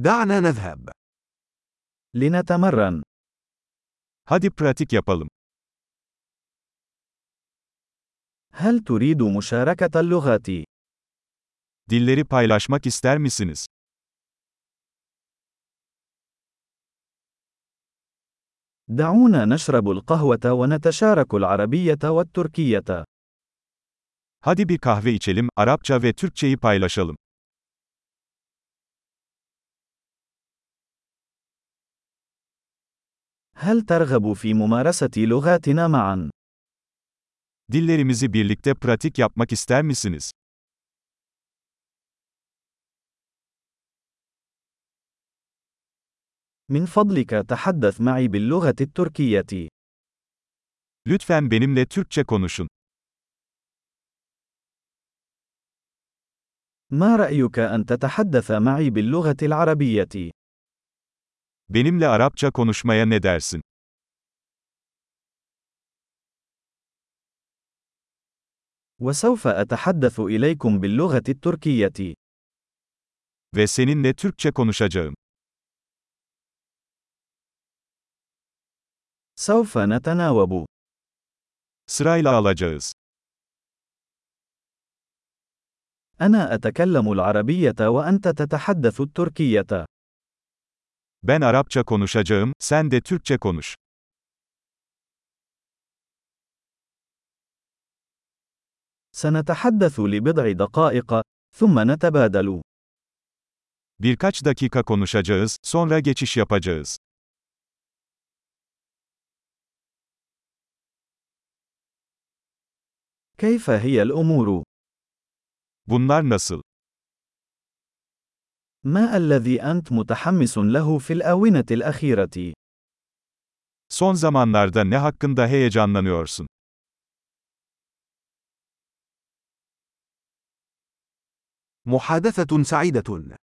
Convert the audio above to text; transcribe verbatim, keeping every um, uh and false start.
دعنا نذهب. لنتمرن. Hadi pratik yapalım. هل تريد مشاركة اللغات؟ Dilleri paylaşmak ister misiniz? دعونا نشرب القهوة ونتشارك العربية والتركية. Hadi bir kahve içelim, Arapça ve Türkçeyi paylaşalım. هل ترغب في ممارسة لغاتنا معا؟ Dillerimizi birlikte pratik yapmak ister misiniz? من فضلك تحدث معي باللغة التركية. Lütfen benimle Türkçe konuşun. ما رأيك أن تتحدث معي باللغة العربية؟ Benimle Arapça konuşmaya ne dersin? وسوف أتحدث إليكم باللغة التركية. Ve seninle Türkçe konuşacağım. سوف نتناوب. Sırayla alacağız. أنا أتكلم العربية وأنت تتحدث التركية. Ben Arapça konuşacağım, sen de Türkçe konuş. سنتحدث لبضع دقائق، ثم نتبادل. Birkaç dakika konuşacağız, sonra geçiş yapacağız. كيف هي الأمور؟ Bunlar nasıl? ما الذي أنت متحمس له في الآونة الأخيرة؟ Son zamanlarda ne hakkında heyecanlanıyorsun? محادثة سعيدة.